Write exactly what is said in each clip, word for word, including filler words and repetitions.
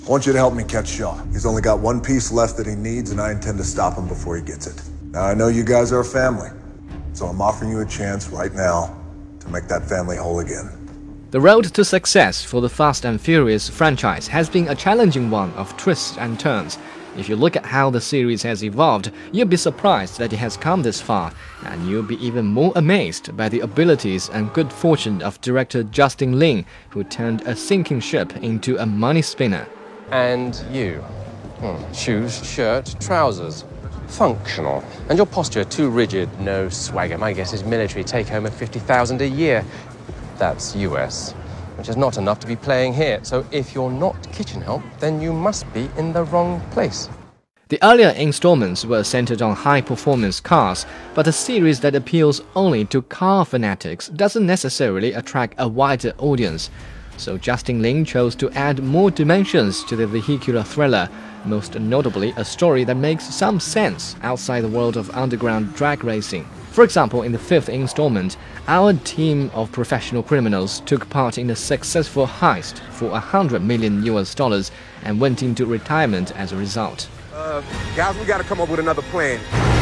I want you to help me catch Shaw. He's only got one piece left that he needs, and I intend to stop him before he gets it. Now, I know you guys are a family, so I'm offering you a chance right now to make that family whole again. The road to success for the Fast and Furious franchise has been a challenging one of twists and turns. If you look at how the series has evolved, you'll be surprised that it has come this far, and you'll be even more amazed by the abilities and good fortune of director Justin Lin, who turned a sinking ship into a money spinner. And you. Hmm. Shoes, shirt, trousers. Functional. And your posture too rigid, no swagger. My guess is military take-home of fifty thousand a year. That's U S, which is not enough to be playing here. So if you're not kitchen help, then you must be in the wrong place. The earlier installments were centered on high-performance cars, but a series that appeals only to car fanatics doesn't necessarily attract a wider audience. So Justin Lin chose to add more dimensions to the vehicular thriller, most notably a story that makes some sense outside the world of underground drag racing. For example, in the fifth installment, our team of professional criminals took part in a successful heist for one hundred million U S dollars and went into retirement as a result. Uh, guys, we gotta come up with another plan.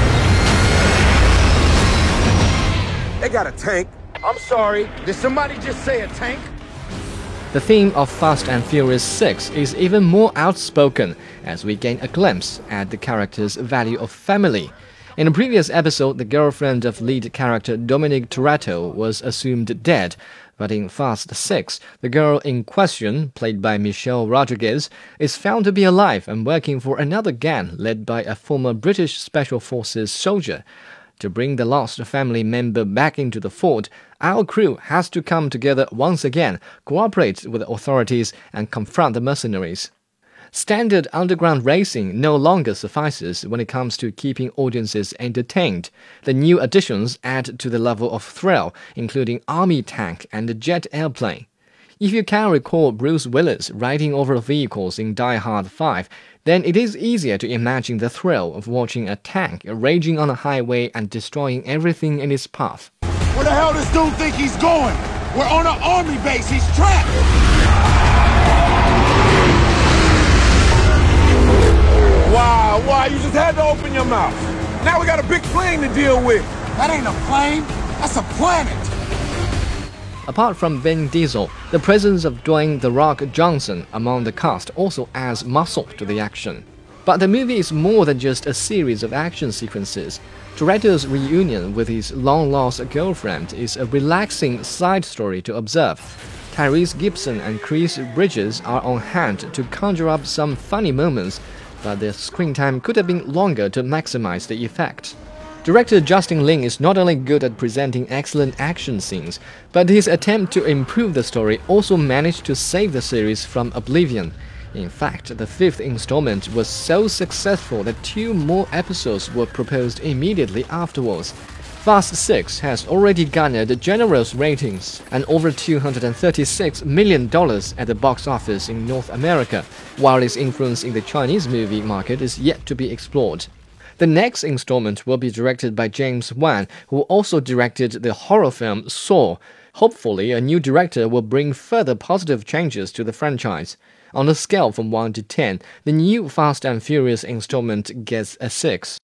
They got a tank. I'm sorry, did somebody just say a tank? The theme of Fast and Furious six is even more outspoken as we gain a glimpse at the character's value of family. In a previous episode, the girlfriend of lead character Dominic Toretto was assumed dead, but in Fast six, the girl in question, played by Michelle Rodriguez, is found to be alive and working for another gang led by a former British Special Forces soldier. To bring the lost family member back into the fold, our crew has to come together once again, cooperate with the authorities, and confront the mercenaries. Standard underground racing no longer suffices when it comes to keeping audiences entertained. The new additions add to the level of thrill, including army tank and a jet airplane. If you can recall Bruce Willis riding over vehicles in Die Hard five, then it is easier to imagine the thrill of watching a tank raging on a highway and destroying everything in its path. Where the hell does dude think he's going? We're on an army base, he's trapped! Wow, wow, you just had to open your mouth. Now we got a big plane to deal with. That ain't a plane, that's a planet! Apart from Vin Diesel, the presence of Dwayne "The Rock" Johnson among the cast also adds muscle to the action. But the movie is more than just a series of action sequences. Toretto's reunion with his long-lost girlfriend is a relaxing side story to observe. Tyrese Gibson and Chris Bridges are on hand to conjure up some funny moments, but their screen time could have been longer to maximize the effect. Director Justin Lin is not only good at presenting excellent action scenes, but his attempt to improve the story also managed to save the series from oblivion. In fact, the fifth installment was so successful that two more episodes were proposed immediately afterwards. Fast six has already garnered generous ratings and over two hundred thirty-six million dollars at the box office in North America, while its influence in the Chinese movie market is yet to be explored. The next installment will be directed by James Wan, who also directed the horror film Saw. Hopefully, a new director will bring further positive changes to the franchise. On a scale from one to ten, the new Fast and Furious installment gets a six.